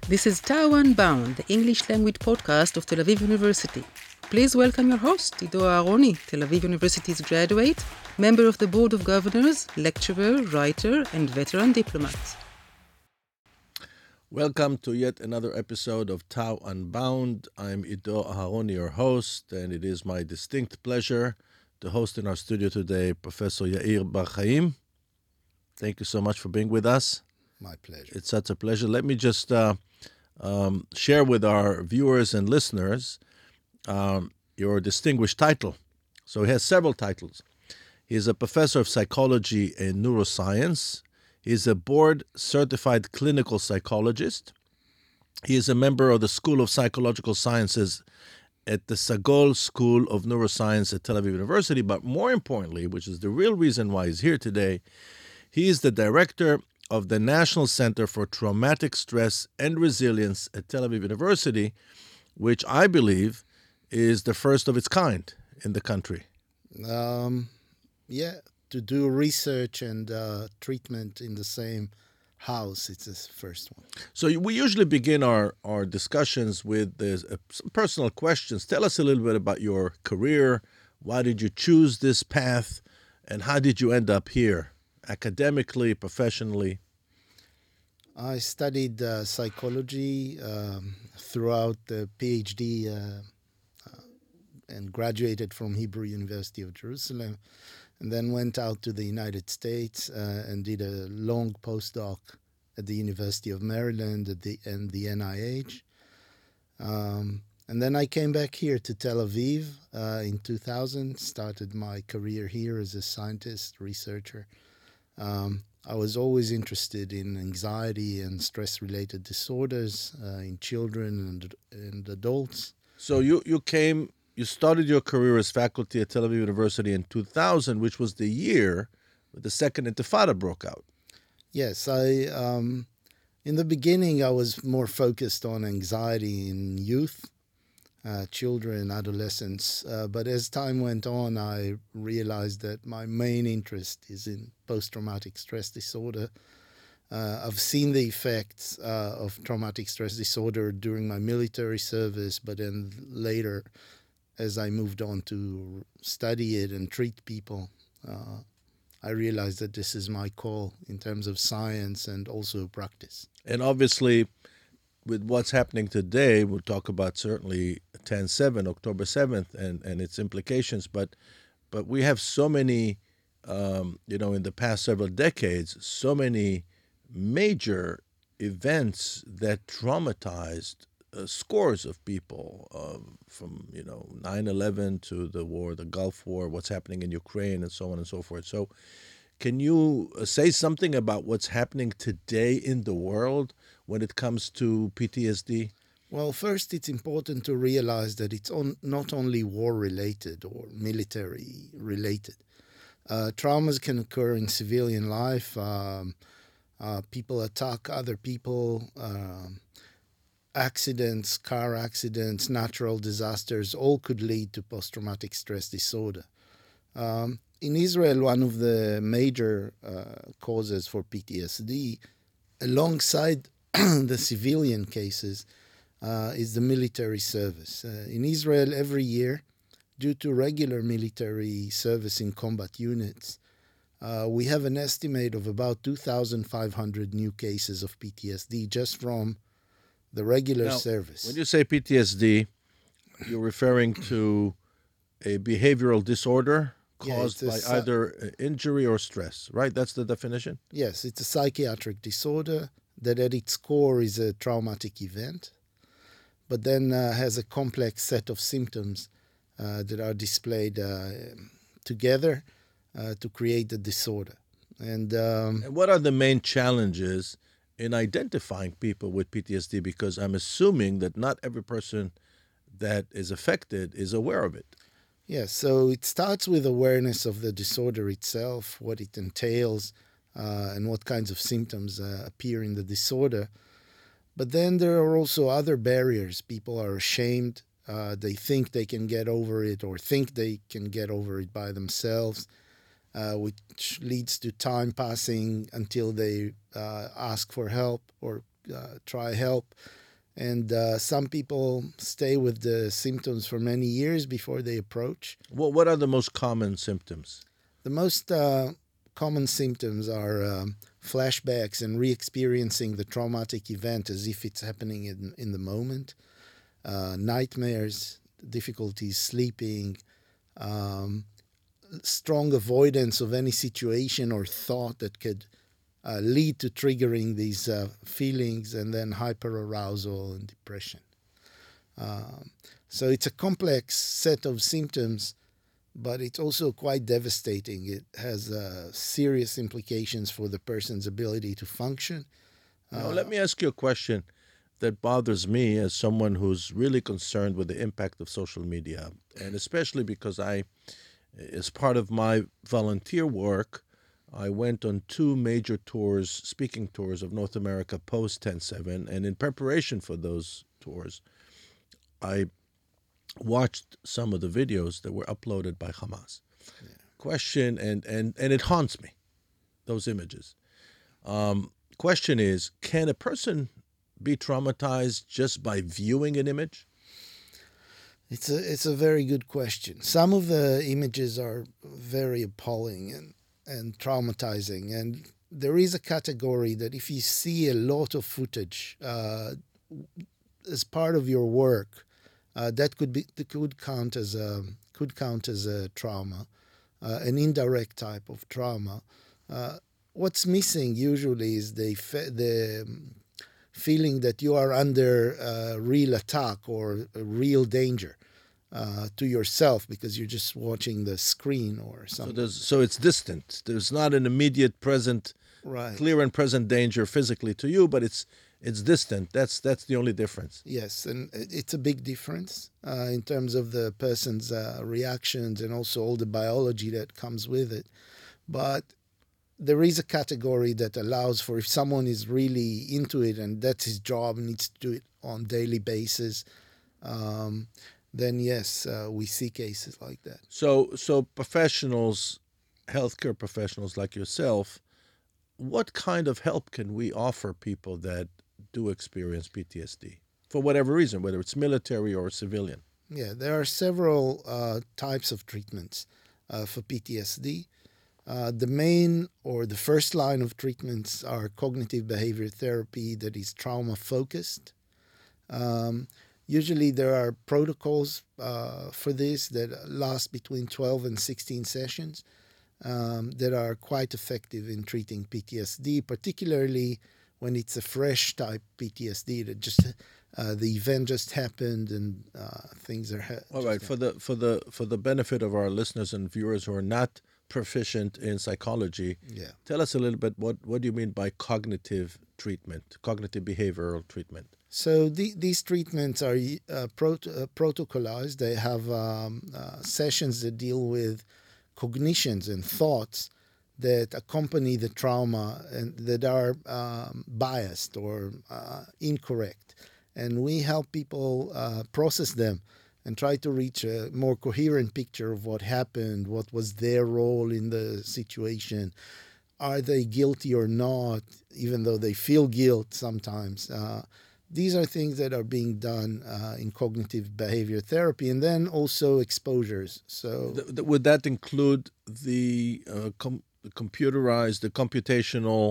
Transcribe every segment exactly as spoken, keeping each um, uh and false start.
This is Tao Unbound, the English language podcast of Tel Aviv University. Please welcome your host, Ido Aharoni, Tel Aviv University's graduate, member of the Board of Governors, lecturer, writer, and veteran diplomat. Welcome to yet another episode of Tao Unbound. I'm Ido Aharoni, your host, and it is my distinct pleasure to host in our studio today Professor Yair Bar Chaim. Thank you so much for being with us. My pleasure. It's such a pleasure. Let me just uh, um, share with our viewers and listeners um, your distinguished title. So he has several titles. He is a professor of psychology and neuroscience. He is a board-certified clinical psychologist. He is a member of the School of Psychological Sciences at the Sagol School of Neuroscience at Tel Aviv University. But more importantly, which is the real reason why he's here today, he is the director of the National Center for Traumatic Stress and Resilience at Tel Aviv University, which I believe is the first of its kind in the country. Um, yeah, to do research and uh, treatment in the same house, it's the first one. So we usually begin our, our discussions with this, uh, some personal questions. Tell us a little bit about your career. Why did you choose this path? And how did you end up here, academically, professionally? I studied uh, psychology um, throughout the PhD uh, uh, and graduated from Hebrew University of Jerusalem, and then went out to the United States uh, and did a long postdoc at the University of Maryland at the, and the N I H. Um, and then I came back here to Tel Aviv uh, in two thousand, started my career here as a scientist, researcher. Um, I was always interested in anxiety and stress-related disorders uh, in children and, and adults. So you, you came, you started your career as faculty at Tel Aviv University in two thousand, which was the year that the second Intifada broke out. Yes, I um, in the beginning I was more focused on anxiety in youth, uh, children, adolescents. Uh, but as time went on, I realized that my main interest is in post-traumatic stress disorder. Uh, I've seen the effects uh, of traumatic stress disorder during my military service, but then later, as I moved on to study it and treat people, uh, I realized that this is my call in terms of science and also practice. And obviously, with what's happening today, we'll talk about certainly ten seven, October seventh, and, and its implications. But but we have so many, um, you know, in the past several decades, so many major events that traumatized uh, scores of people, uh, from, you know, nine eleven to the war, the Gulf War, what's happening in Ukraine, and so on and so forth. So can you say something about what's happening today in the world when it comes to P T S D? Well, first, it's important to realize that it's on, not only war-related or military-related. Uh, traumas can occur in civilian life. Um, uh, people attack other people. Um, accidents, car accidents, natural disasters, all could lead to post-traumatic stress disorder. Um, in Israel, one of the major uh, causes for P T S D, alongside the civilian cases, uh, is the military service. Uh, in Israel, every year, due to regular military service in combat units, uh, we have an estimate of about two thousand five hundred new cases of P T S D just from the regular Now, service. When you say P T S D, you're referring to a behavioral disorder caused Yeah, by it's a, either injury or stress, right? That's the definition? Yes, it's a psychiatric disorder that at its core is a traumatic event, but then uh, has a complex set of symptoms uh, that are displayed uh, together uh, to create the disorder. And, um, And what are the main challenges in identifying people with P T S D? Because I'm assuming that not every person that is affected is aware of it. Yes, so it starts with awareness of the disorder itself, what it entails, uh, and what kinds of symptoms uh, appear in the disorder. But then there are also other barriers. People are ashamed. Uh, they think they can get over it or think they can get over it by themselves. uh, which leads to time passing until they uh, ask for help or uh, try help. And uh, some people stay with the symptoms for many years before they approach. Well, what are the most common symptoms? The most uh, common symptoms are um, flashbacks and re-experiencing the traumatic event as if it's happening in, in the moment, uh, nightmares, difficulties sleeping, um, strong avoidance of any situation or thought that could uh, lead to triggering these uh, feelings, and then hyperarousal and depression. Um, so it's a complex set of symptoms, but it's also quite devastating. It has uh, serious implications for the person's ability to function. Now, let me ask you a question that bothers me as someone who's really concerned with the impact of social media, and especially because I, as part of my volunteer work, I went on two major tours, speaking tours of North America post ten seven, and in preparation for those tours, I watched some of the videos that were uploaded by Hamas. Yeah. Question, and, and, and it haunts me, those images. Um, question is, can a person be traumatized just by viewing an image? It's a it's a very good question. Some of the images are very appalling and, and traumatizing, and there is a category that if you see a lot of footage uh, as part of your work, uh, that could be that could count as a could count as a trauma, uh, an indirect type of trauma. Uh, what's missing usually is the the feeling that you are under a real attack or a real danger uh, to yourself because you're just watching the screen or something. So, there's, so it's distant. There's not an immediate present, right. clear and present danger physically to you, but it's it's distant. That's that's the only difference. Yes, and it's a big difference uh, in terms of the person's uh, reactions and also all the biology that comes with it. But there is a category that allows for if someone is really into it and that's his job and needs to do it on a daily basis, um, then yes, uh, we see cases like that. So, so professionals, healthcare professionals like yourself, what kind of help can we offer people that do experience P T S D for whatever reason, whether it's military or civilian? Yeah, there are several uh, types of treatments uh, for P T S D. Uh, the main or the first line of treatments are cognitive behavior therapy that is trauma focused. Um, usually there are protocols uh, for this that last between twelve and sixteen sessions um, that are quite effective in treating P T S D, particularly when it's a fresh type P T S D that just uh, the event just happened and uh, things are. Ha- All right, for the for the for the benefit of our listeners and viewers who are not proficient in psychology, yeah. Tell us a little bit what, what do you mean by cognitive treatment, cognitive behavioral treatment? So the, these treatments are uh, prot- uh, protocolized. They have um, uh, sessions that deal with cognitions and thoughts that accompany the trauma and that are um, biased or uh, incorrect. And we help people uh, process them and try to reach a more coherent picture of what happened, what was their role in the situation. Are they guilty or not, even though they feel guilt sometimes? Uh, these are things that are being done uh, in cognitive behavior therapy, and then also exposures. So, th- th- would that include the, uh, com- the computerized, the computational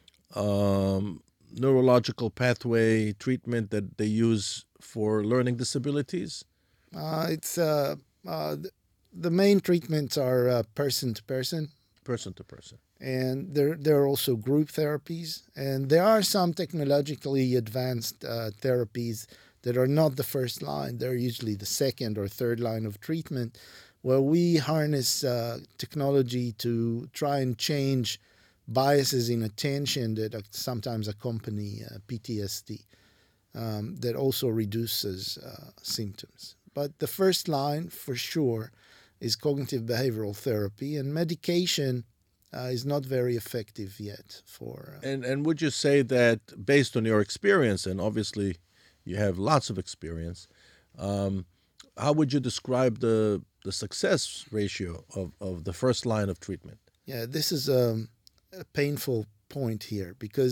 um, neurological pathway treatment that they use for learning disabilities? Uh, it's uh, uh, the main treatments are uh, person to person, person to person, and there there are also group therapies, and there are some technologically advanced uh, therapies that are not the first line. They're usually the second or third line of treatment, where we harness uh, technology to try and change biases in attention that sometimes accompany uh, P T S D. Um, that also reduces uh, symptoms. But the first line, for sure, is cognitive behavioral therapy, and medication uh, is not very effective yet for... Uh... And and would you say that, based on your experience, and obviously you have lots of experience, um, how would you describe the the success ratio of, of the first line of treatment? Yeah, this is a, a painful point here, because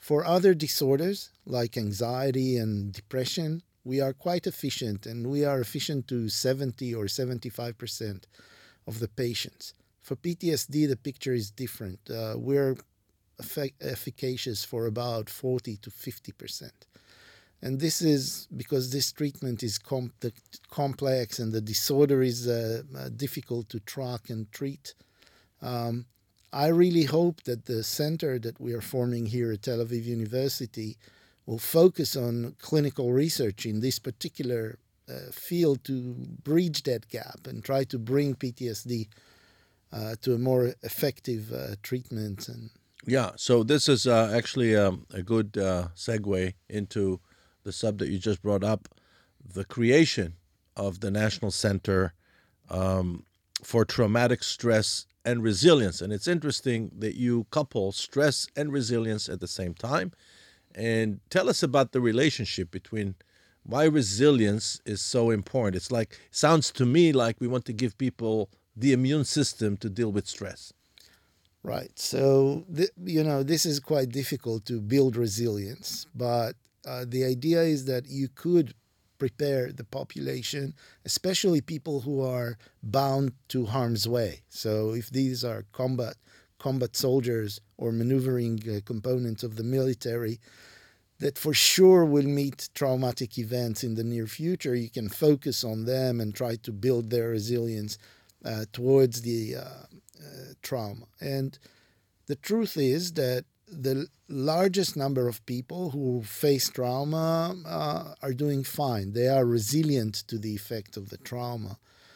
For other disorders like anxiety and depression, we are quite efficient, and we are efficient to seventy or seventy-five percent of the patients. For P T S D, the picture is different. Uh, we're effic- efficacious for about forty to fifty percent. And this is because this treatment is com- complex and the disorder is uh, uh, difficult to track and treat. Um, I really hope that the center that we are forming here at Tel Aviv University will focus on clinical research in this particular uh, field to bridge that gap and try to bring P T S D uh, to a more effective uh, treatment. And Yeah, so this is uh, actually um, a good uh, segue into the subject you just brought up, the creation of the National Center um, for Traumatic Stress and Resilience. And it's interesting that you couple stress and resilience at the same time. And tell us about the relationship between why resilience is so important. It's like, sounds to me like we want to give people the immune system to deal with stress. Right. So, th- you know, this is quite difficult to build resilience, but uh, the idea is that you could prepare the population, especially people who are bound to harm's way. So if these are combat combat soldiers or maneuvering uh, components of the military that for sure will meet traumatic events in the near future, you can focus on them and try to build their resilience uh, towards the uh, uh, trauma. And the truth is that the largest number of people who face trauma uh, are doing fine. They are resilient to the effect of the trauma.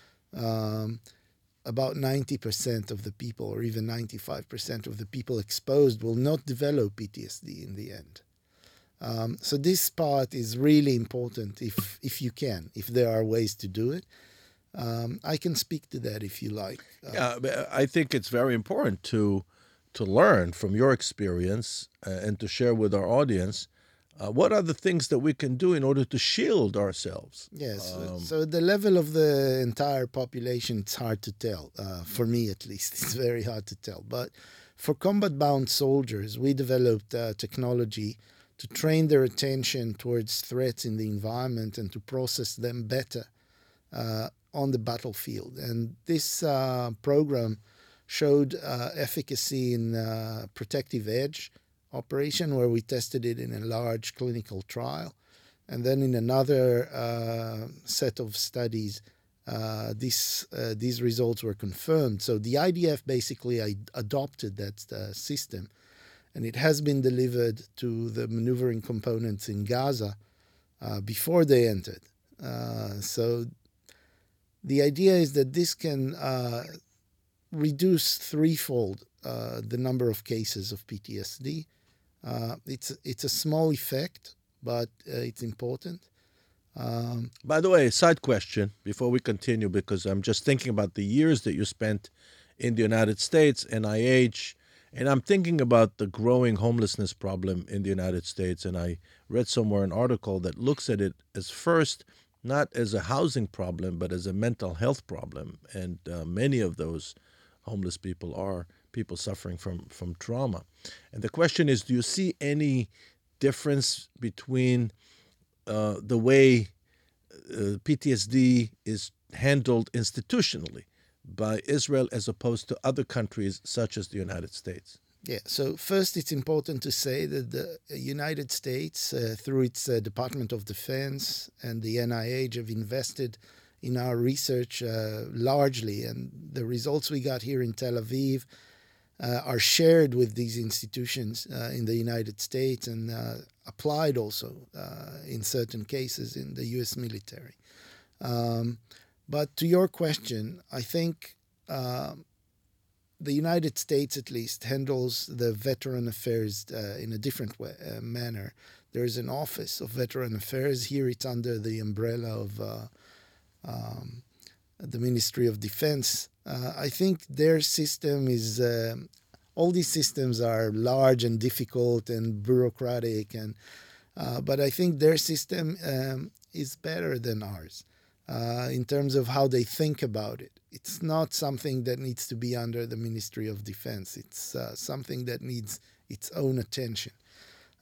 Um, about ninety percent of the people, or even ninety-five percent of the people exposed, will not develop P T S D in the end. Um, so this part is really important if if you can, if there are ways to do it. Um, I can speak to that if you like. Uh, Yeah, but I think it's very important to to learn from your experience uh, and to share with our audience uh, what are the things that we can do in order to shield ourselves. Yes. Um, so the level of the entire population, it's hard to tell. Uh, for me, at least, it's very hard to tell. But for combat-bound soldiers, we developed uh, technology to train their attention towards threats in the environment and to process them better uh, on the battlefield. And this uh, program showed uh, efficacy in uh, Protective Edge operation, where we tested it in a large clinical trial. And then in another uh, set of studies, uh, this, uh, these results were confirmed. So the I D F basically ad- adopted that uh, system, and it has been delivered to the maneuvering components in Gaza uh, before they entered. Uh, so the idea is that this can uh, reduce threefold uh, the number of cases of P T S D. Uh, it's it's a small effect, but uh, it's important. Um, By the way, side question before we continue, because I'm just thinking about the years that you spent in the United States, N I H, and I'm thinking about the growing homelessness problem in the United States. And I read somewhere an article that looks at it as first not as a housing problem, but as a mental health problem. And uh, many of those homeless people are people suffering from, from trauma. And the question is, do you see any difference between uh, the way uh, P T S D is handled institutionally by Israel as opposed to other countries such as the United States? Yeah, so first it's important to say that the United States, uh, through its uh, Department of Defense and the N I H, have invested in our research uh, largely, and the results we got here in Tel Aviv uh, are shared with these institutions uh, in the United States and uh, applied also uh, in certain cases in the U S military. Um, but to your question, I think uh, the United States, at least, handles the veteran affairs uh, in a different way, uh, manner. There is an Office of Veteran Affairs. Here it's under the umbrella of uh, um, the Ministry of Defense. Uh, I think their system is, uh, all these systems are large and difficult and bureaucratic, and uh, but I think their system um, is better than ours uh, in terms of how they think about it. It's not something that needs to be under the Ministry of Defense. It's uh, something that needs its own attention.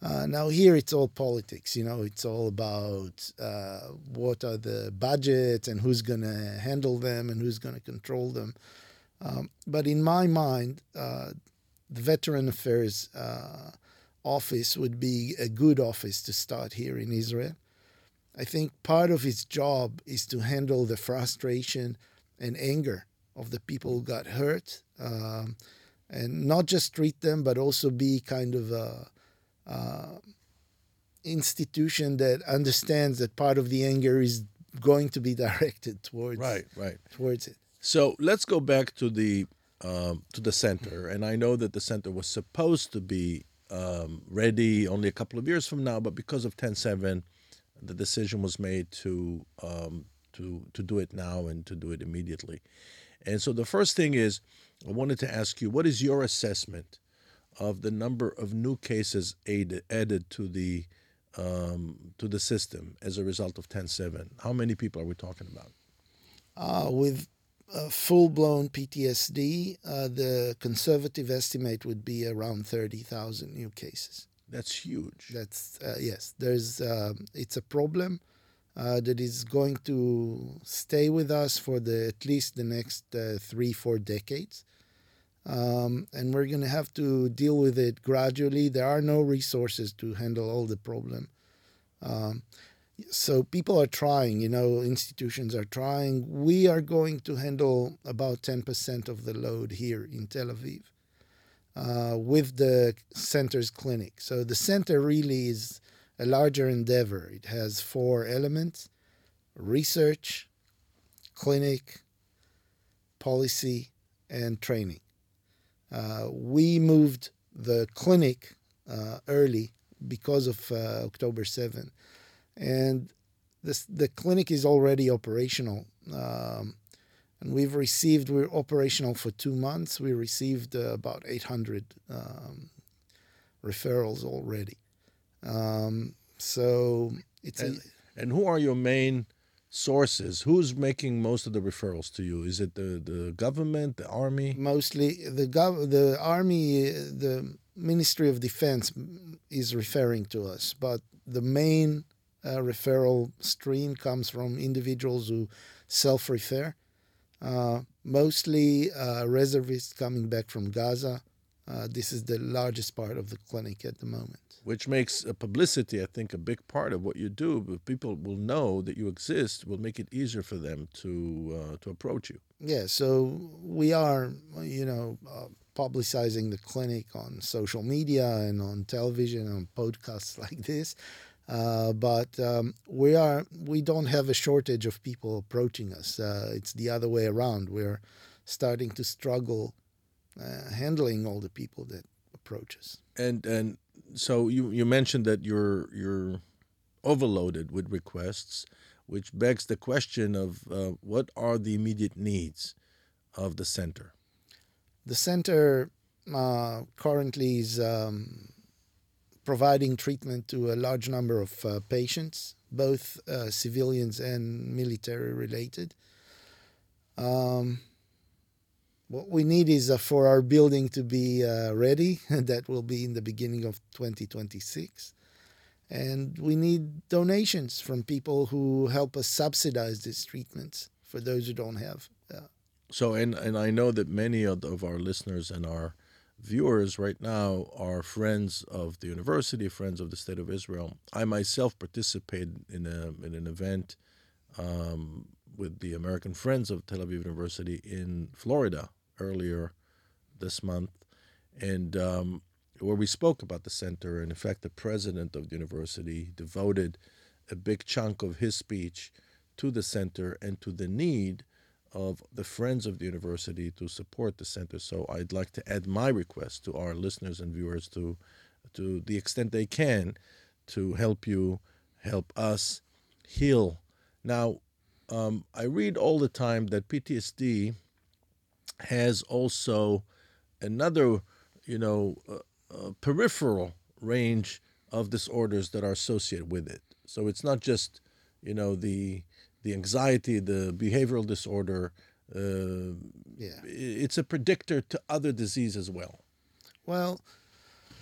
Uh, now here it's all politics, you know, it's all about uh, what are the budgets and who's going to handle them and who's going to control them. Um, but in my mind, uh, the Veteran Affairs uh, office would be a good office to start here in Israel. I think part of its job is to handle the frustration and anger of the people who got hurt, um, and not just treat them, but also be kind of a uh, institution that understands that part of the anger is going to be directed towards Right, right. towards it. So let's go back to the um, to the center, and I know that the center was supposed to be um, ready only a couple of years from now, but because of ten seven, the decision was made to um, to to do it now and to do it immediately. And so the first thing is, I wanted to ask you, what is your assessment of the number of new cases added, added to the um, to the system as a result of ten seven? How many people are we talking about? Uh, with uh, full-blown P T S D, uh, the conservative estimate would be around thirty thousand new cases. That's huge. That's uh, yes. There's uh, it's a problem uh, that is going to stay with us for the at least the next uh, three four decades, um, and we're going to have to deal with it gradually. There are no resources to handle all the problem. Um, so people are trying. You know, institutions are trying. We are going to handle about ten percent of the load here in Tel Aviv. Uh, with the center's clinic. So the center really is a larger endeavor. It has four elements: research, clinic, policy, and training. Uh, we moved the clinic uh, early because of uh, October seventh. And this, the clinic is already operational. Um, And we've received, we're operational for two months. We received uh, about eight hundred um, referrals already. Um, so it's and, a, and who are your main sources? Who's making most of the referrals to you? Is it the, the government, the army? mostly the gov- the army, the Ministry of Defense is referring to us, but the main uh, referral stream comes from individuals who self-refer. Uh, mostly uh, reservists coming back from Gaza. Uh, this is the largest part of the clinic at the moment. Which makes uh, publicity, I think, a big part of what you do. But people will know that you exist, will make it easier for them to uh, to approach you. Yeah, so we are, you know, uh, publicizing the clinic on social media and on television, on podcasts like this. Uh, but um, we are we don't have a shortage of people approaching us. Uh, it's the other way around. We're starting to struggle uh, handling all the people that approach us. And and so you, you mentioned that you're you're overloaded with requests, which begs the question of uh, what are the immediate needs of the center? The center uh, currently is Um, providing treatment to a large number of uh, patients, both uh, civilians and military related. Um, what we need is uh, for our building to be uh, ready. That will be in the beginning of twenty twenty-six. And we need donations from people who help us subsidize these treatments for those who don't have. Uh, So, and, and I know that many of, of our listeners and our viewers right now are friends of the university, friends of the State of Israel. I myself participated in a in an event um, with the American Friends of Tel Aviv University in Florida earlier this month, and um, where we spoke about the center. And in fact, the president of the university devoted a big chunk of his speech to the center and to the need of the Friends of the University to support the center. So I'd like to add my request to our listeners and viewers to, to the extent they can, to help you, help us heal. Now, um, I read all the time that P T S D has also another, you know, uh, uh, peripheral range of disorders that are associated with it. So it's not just, you know, the the anxiety, the behavioral disorder. Uh, yeah. It's a predictor to other disease as well. Well,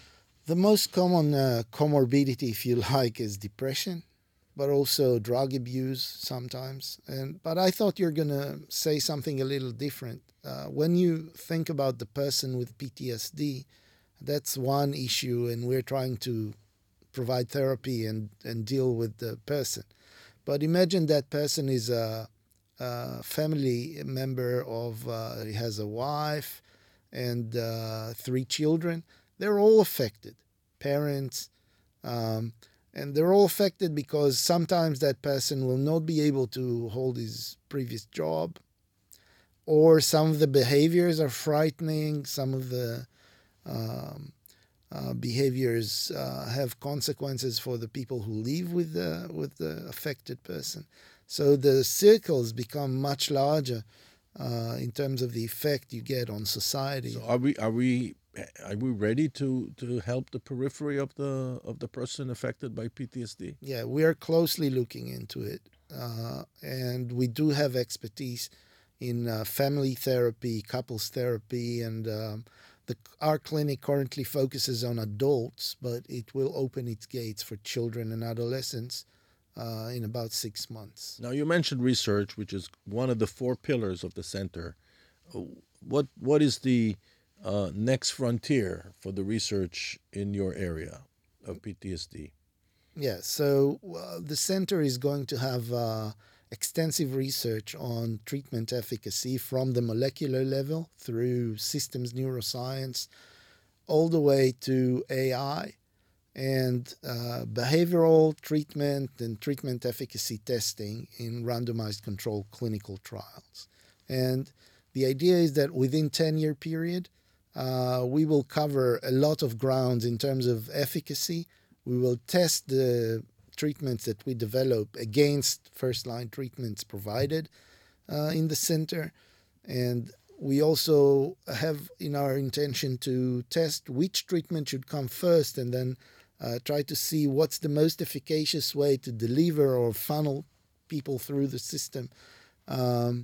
The most common uh, comorbidity, if you like, is depression, but also drug abuse sometimes. And but I thought you're gonna say something a little different. Uh, when you think about the person with P T S D, that's one issue, and we're trying to provide therapy and, and deal with the person. But imagine that person is a, a family member of, uh, he has a wife and uh, three children. They're all affected, parents, um, and they're all affected because sometimes that person will not be able to hold his previous job, or some of the behaviors are frightening, some of the um, uh, behaviors uh, have consequences for the people who live with the, with the affected person. So the circles become much larger uh, in terms of the effect you get on society. So are we are we are we ready to, to help the periphery of the of the person affected by P T S D? Yeah, we are closely looking into it, uh, and we do have expertise in uh, family therapy, couples therapy, and um, the, our clinic currently focuses on adults, but it will open its gates for children and adolescents uh, in about six months. Now, you mentioned research, which is one of the four pillars of the center. What what is the uh, next frontier for the research in your area of P T S D? Yeah, so uh, the center is going to have uh, extensive research on treatment efficacy from the molecular level through systems neuroscience all the way to A I and uh, behavioral treatment and treatment efficacy testing in randomized controlled clinical trials. And the idea is that within ten-year period, uh, we will cover a lot of grounds in terms of efficacy. We will test the treatments that we develop against first-line treatments provided uh, in the center. And we also have in our intention to test which treatment should come first and then uh, try to see what's the most efficacious way to deliver or funnel people through the system. Um,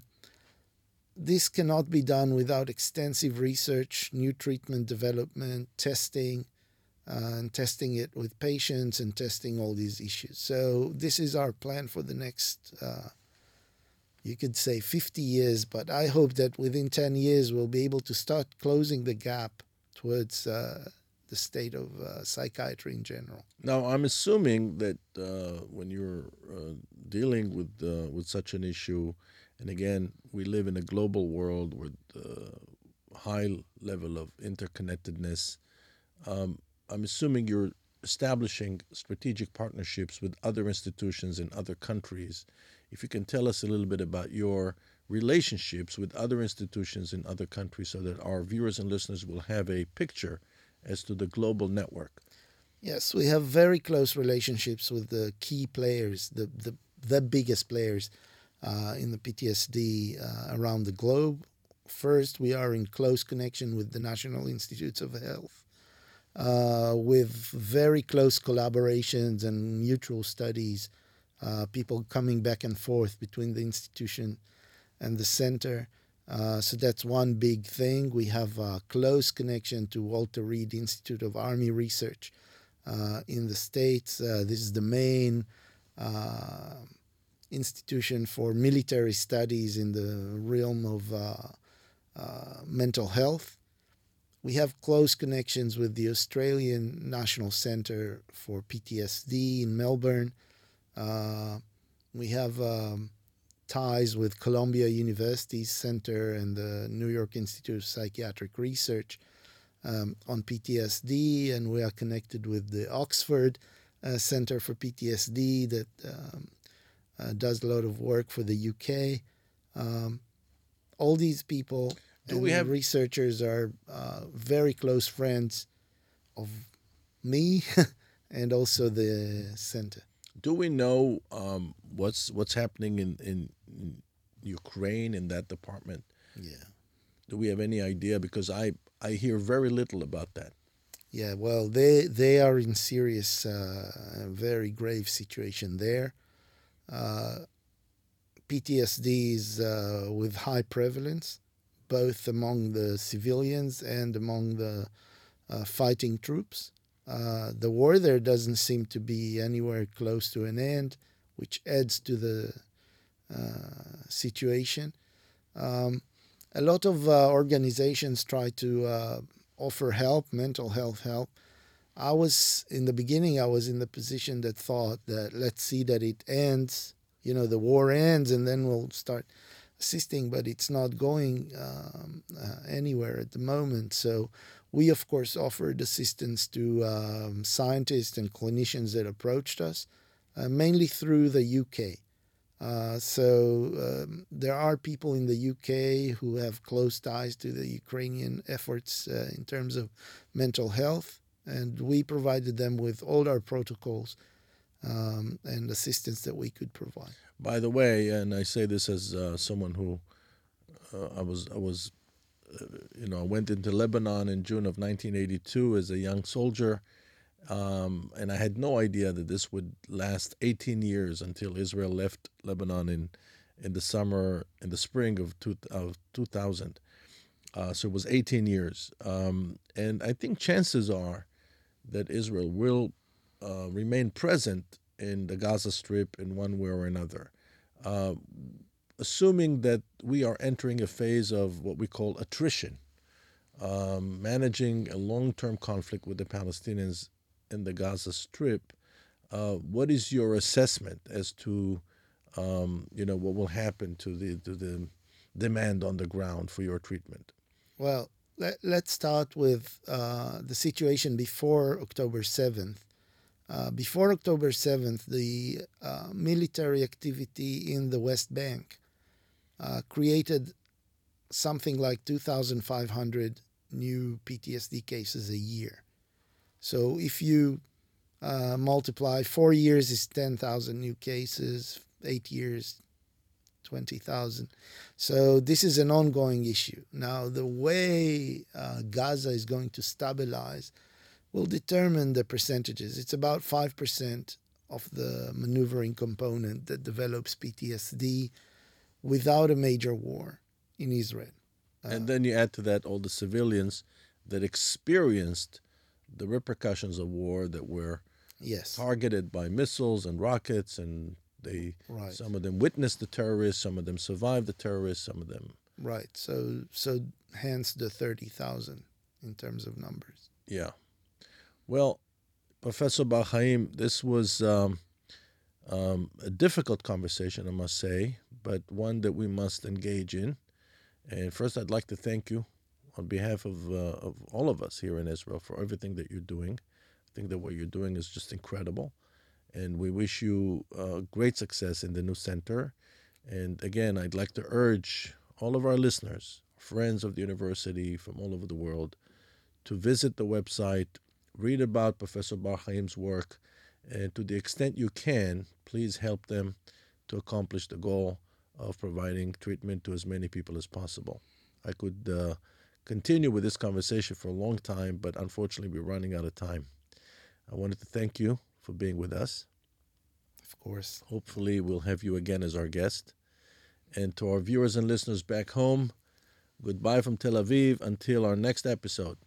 this cannot be done without extensive research, new treatment development, testing, Uh, and testing it with patients and testing all these issues. So this is our plan for the next, uh, you could say fifty years, but I hope that within ten years we'll be able to start closing the gap towards uh, the state of uh, psychiatry in general. Now, I'm assuming that uh, when you're uh, dealing with uh, with such an issue, and again, we live in a global world with uh, high level of interconnectedness, um, I'm assuming you're establishing strategic partnerships with other institutions in other countries. If you can tell us a little bit about your relationships with other institutions in other countries so that our viewers and listeners will have a picture as to the global network. Yes, we have very close relationships with the key players, the, the, the biggest players uh, in the P T S D uh, around the globe. First, we are in close connection with the National Institutes of Health. Uh, with very close collaborations and mutual studies, uh, people coming back and forth between the institution and the center. Uh, so that's one big thing. We have a close connection to Walter Reed Institute of Army Research uh, in the States. Uh, this is the main uh, institution for military studies in the realm of uh, uh, mental health. We have close connections with the Australian National Centre for P T S D in Melbourne. Uh, we have um, ties with Columbia University's Centre and the New York Institute of Psychiatric Research um, on P T S D, and we are connected with the Oxford uh, Centre for P T S D that um, uh, does a lot of work for the U K. Um, all these people Do and we have researchers are uh, very close friends of me and also the center. Do we know um, what's what's happening in, in, in Ukraine in that department? Yeah. Do we have any idea? Because I, I hear very little about that. Yeah, well, they they are in serious, uh, very grave situation there. Uh, P T S D is uh, with high prevalence, both among the civilians and among the uh, fighting troops. Uh, the war there doesn't seem to be anywhere close to an end, which adds to the uh, situation. Um, a lot of uh, organizations try to uh, offer help, mental health help. I was, in the beginning, I was in the position that thought that let's see that it ends, you know, the war ends and then we'll start assisting, but it's not going um, uh, anywhere at the moment. So we, of course, offered assistance to um, scientists and clinicians that approached us, uh, mainly through the U K. Uh, so um, there are people in the U K who have close ties to the Ukrainian efforts uh, in terms of mental health, and we provided them with all our protocols um, and assistance that we could provide. By the way, and I say this as uh, someone who uh, I was, I was, uh, you know, I went into Lebanon in June of nineteen eighty-two as a young soldier, um, and I had no idea that this would last eighteen years until Israel left Lebanon in, in the summer, in the spring of two, of two thousand. Uh, so it was eighteen years, um, and I think chances are that Israel will uh, remain present in the Gaza Strip in one way or another, uh, assuming that we are entering a phase of what we call attrition, um, managing a long-term conflict with the Palestinians in the Gaza Strip. Uh, what is your assessment as to, um, you know, what will happen to the to the demand on the ground for your treatment? Well, let, let's start with uh, the situation before October seventh. Uh, before October seventh, the uh, military activity in the West Bank uh, created something like two thousand five hundred new P T S D cases a year. So if you uh, multiply, four years is ten thousand new cases, eight years, twenty thousand. So this is an ongoing issue. Now, the way uh, Gaza is going to stabilize will determine the percentages. It's about five percent of the maneuvering component that develops P T S D without a major war in Israel. Uh, and then you add to that all the civilians that experienced the repercussions of war, that were yes. targeted by missiles and rockets, and they Right. some of them witnessed the terrorists, some of them survived the terrorists, some of them... Right. So, so hence the thirty thousand in terms of numbers. Yeah. Well, Professor Bar Chaim, this was um, um, a difficult conversation, I must say, but one that we must engage in. And first, I'd like to thank you on behalf of, uh, of all of us here in Israel for everything that you're doing. I think that what you're doing is just incredible. And we wish you uh, great success in the new center. And again, I'd like to urge all of our listeners, friends of the university from all over the world, to visit the website, read about Professor Bar Chaim's work, and to the extent you can, please help them to accomplish the goal of providing treatment to as many people as possible. I could uh, continue with this conversation for a long time, but unfortunately we're running out of time. I wanted to thank you for being with us. Of course. Hopefully we'll have you again as our guest. And to our viewers and listeners back home, goodbye from Tel Aviv until our next episode.